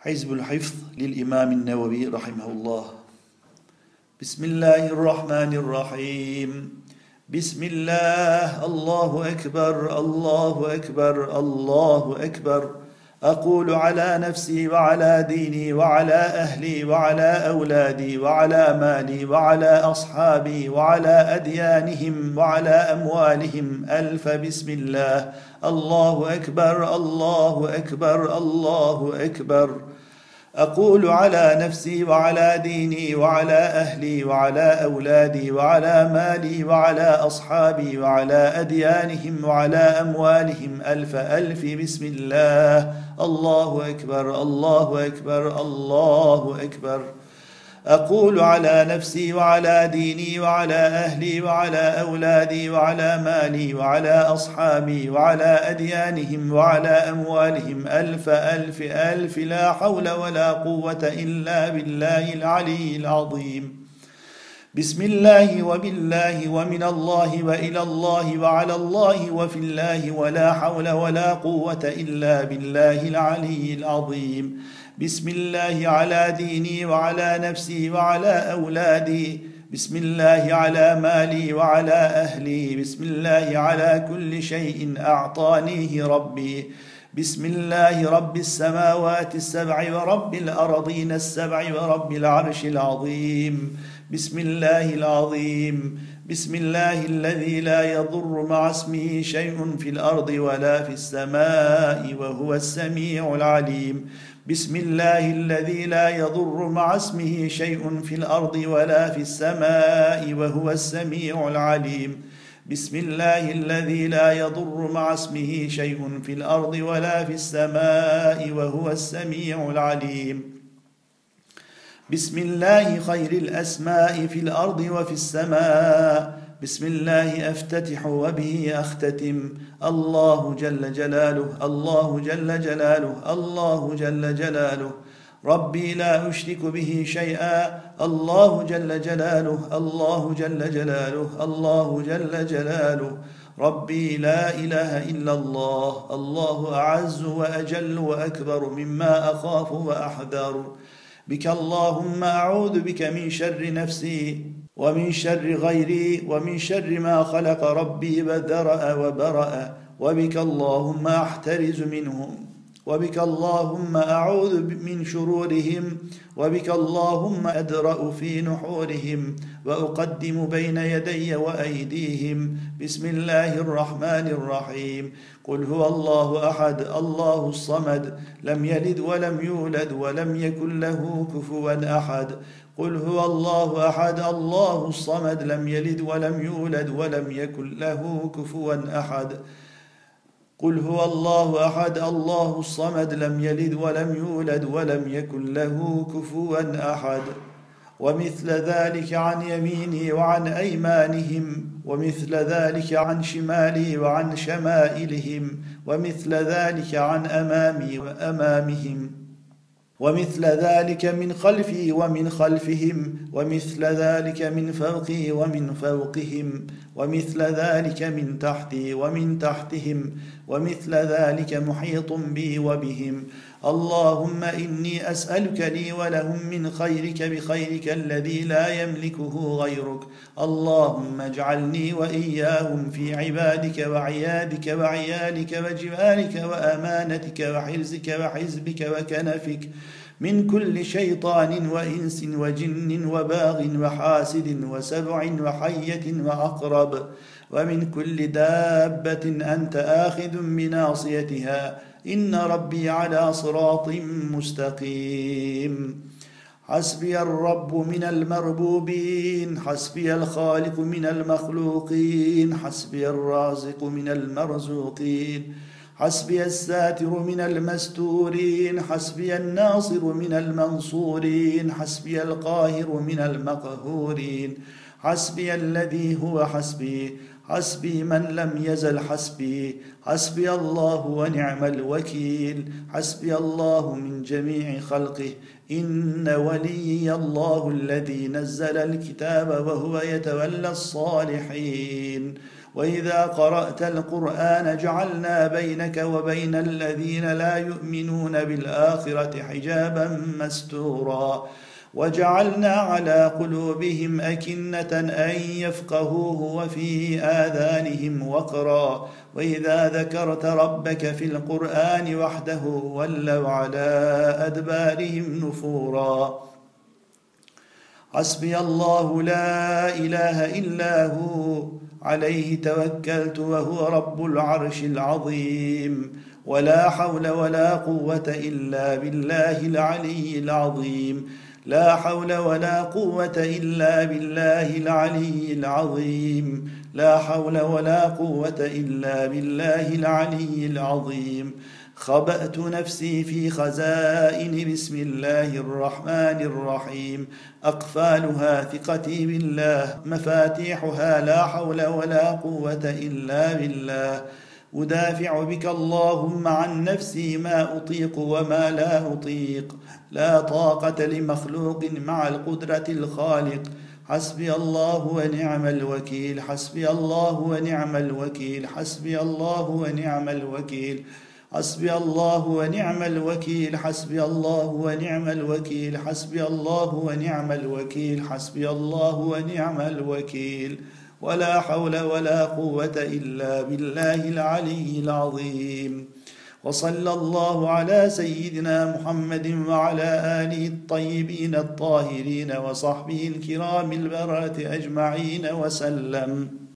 حزب الحفظ للإمام النووي رحمه الله. بسم الله الرحمن الرحيم. بسم الله، الله أكبر الله أكبر الله أكبر. أقول على نفسي وعلى ديني وعلى أهلي وعلى أولادي وعلى مالي وعلى أصحابي وعلى أديانهم وعلى أموالهم ألف بسم الله. الله أكبر الله أكبر الله أكبر. أقول على نفسي وعلى ديني وعلى أهلي وعلى أولادي وعلى مالي وعلى أصحابي وعلى أديانهم وعلى أموالهم ألف بسم الله. الله أكبر الله أكبر الله أكبر. أقول على نفسي وعلى ديني وعلى أهلي وعلى أولادي وعلى مالي وعلى أصحابي وعلى أديانهم وعلى أموالهم ألف لا حول ولا قوة إلا بالله العلي العظيم. بسم الله وبالله ومن الله وإلى الله وعلى الله وفي الله ولا حول ولا قوة إلا بالله العلي العظيم. بسم الله على ديني وعلى نفسي وعلى أولادي. بسم الله على مالي وعلى أهلي. بسم الله على كل شيء أعطانيه ربي. بسم الله رب السماوات السبع ورب الأرضين السبع ورب العرش العظيم. بسم الله العظيم. بسم الله الذي لا يضر مع اسمه شيء في الأرض ولا في السماء وهو السميع العليم. بسم الله الذي لا يضر مع اسمه شيء في الأرض ولا في السماء وهو السميع العليم. بسم الله الذي لا يضر مع اسمه شيء في الأرض ولا في السماء وهو السميع العليم. بسم الله خير الأسماء في الأرض وفي السماء. بسم الله أفتتح وبه أختتم. الله جل جلاله الله جل جلاله الله جل جلاله. ربي لا أشرك به شيئا. الله جل جلاله الله جل جلاله الله جل جلاله. ربي لا إله إلا الله. الله أعز وأجل وأكبر مما أخاف وأحذر. بك اللهم أعوذ بك من شر نفسي ومن شر غيري ومن شر ما خلق ربي وذرأ وبرأ. وبك اللهم أحترز منهم. وبك اللهم أعوذ من شرورهم. وبك اللهم أدرأ في نحورهم وأقدم بين يدي وأيديهم. بسم الله الرحمن الرحيم. قل هو الله أحد الله الصمد لم يلد ولم يولد ولم يكن له كفوا أحد. قل هو الله أحد الله الصمد لم يلد ولم يولد ولم يكن له كفوا أحد. قل هو الله أحد الله الصمد لم يلد ولم يولد ولم يكن له كفوا أحد. ومثل ذلك عن يميني وعن أيمانهم. ومثل ذلك عن شمالي وعن شمائلهم. ومثل ذلك عن أمامي وأمامهم. ومثل ذلك من خلفي ومن خلفهم. ومثل ذلك من فوقي ومن فوقهم. ومثل ذلك من تحتي ومن تحتهم. ومثل ذلك محيط بي وبهم. اللهم إني أسألك لي ولهم من خيرك بخيرك الذي لا يملكه غيرك. اللهم اجعلني وإياهم في عبادك وعيادك وعيالك وجوارك وأمانتك وحرزك وحزبك وكنفك من كل شيطان وإنس وجن وباغ وحاسد وسبع وحية وعقرب ومن كل دابة أنت آخذ بناصيتها. إن ربي على صراط مستقيم. حسبي الرب من المربوبين. حسبي الخالق من المخلوقين. حسبي الرازق من المرزوقين. حسبي الساتر من المستورين. حسبي الناصر من المنصورين. حسبي القاهر من المقهورين. حسبي الذي هو حسبي. حسبي من لم يزل حسبي. حسبي الله ونعم الوكيل. حسبي الله من جميع خلقه. إن وليي الله الذي نزل الكتاب وهو يتولى الصالحين. وإذا قرأت القرآن جعلنا بينك وبين الذين لا يؤمنون بالآخرة حجابا مستورا وجعلنا على قلوبهم أكنة أن يفقهوه وفي آذانهم وقرا وإذا ذكرت ربك في القرآن وحده ولوا على أدبارهم نفورا حسبي الله لا إله إلا هو عليه توكلت وهو رب العرش العظيم ولا حول ولا قوة إلا بالله العلي العظيم لا حول ولا قوة إلا بالله العلي العظيم لا حول ولا قوة إلا بالله العلي العظيم خبأت نفسي في خزائن بسم الله الرحمن الرحيم أقفالها ثقتي بالله مفاتيحها لا حول ولا قوة إلا بالله أدافع بك اللهم عن نفسي ما أطيق وما لا أطيق لا طاقة لمخلوق مع القدرة الخالق حسبي الله ونعم الوكيل حسبي الله ونعم الوكيل حسبي الله ونعم الوكيل حسبي الله ونعم الوكيل حسبي الله ونعم الوكيل حسبي الله ونعم الوكيل حسبي الله ونعم الوكيل ولا حول ولا قوة إلا بالله العلي العظيم وصلى الله على سيدنا محمد وعلى آله الطيبين الطاهرين وصحبه الكرام البررة أجمعين وسلم